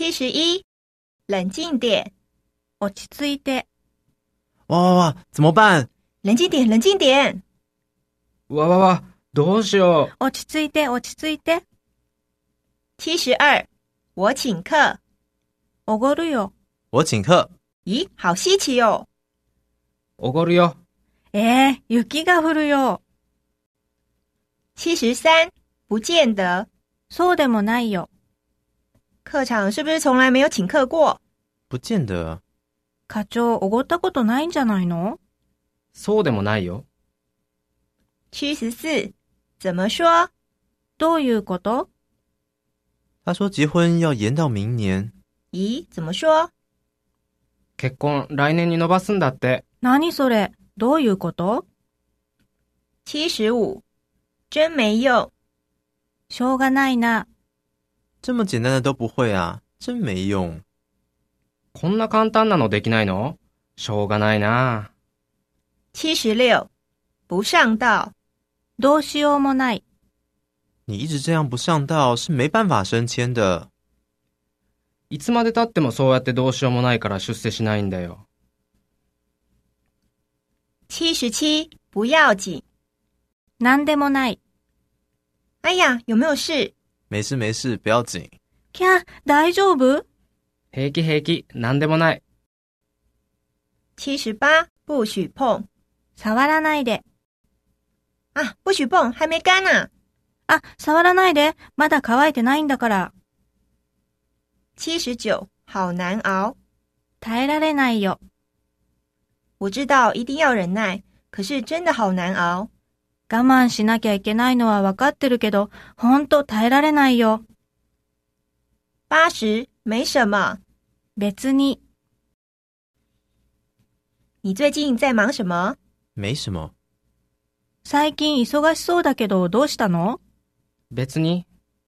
71，冷静点。 落ち着いて。 哇，怎么办？ 冷静点，冷静点。 わ、どうしよう。 落ち着いて、落ち着いて。 72，我请客。 おごるよ。 我请客。 咦，好稀奇哦。 おごるよ。 雪が降るよ。 73，不见得。 そうでもないよ。 课长是不是从来没有请客过？ 不见得。 課長、おごったことないんじゃないの？ そうでもないよ。 74，怎么说？ どういうこと？ 他说结婚要延到明年。 咦，怎么说？ 結婚来年に延ばすんだって。 何それ？どういうこと？ 75，真没用。 しょうがないな。 这么简单的都不会啊，真没用。 こんな簡単なのできないの？しょうがないな。 76，不上道。 どうしようもない。 你一直这样不上道是没办法升迁的。 いつまで経ってもそうやってどうしようもないから出世しないんだよ。 77，不要紧。 なんでもない。 哎呀，有没有事？ 没事没事，不要紧。 キャ、大丈夫？ 平気平気、なんでもない。 78，不许碰。 触らないで。 啊，不许碰，还没干呢。 あ、触らないで。まだ乾いてないんだから。 79，好难熬。 耐えられないよ。 我知道一定要忍耐，可是真的好难熬。 我慢しなきゃいけないのはわかってるけど、ほんと耐えられないよ。 80，没什么。 別に。 你最近在忙什么？ 没什么。 最近忙しそうだけどどうしたの？ 別に。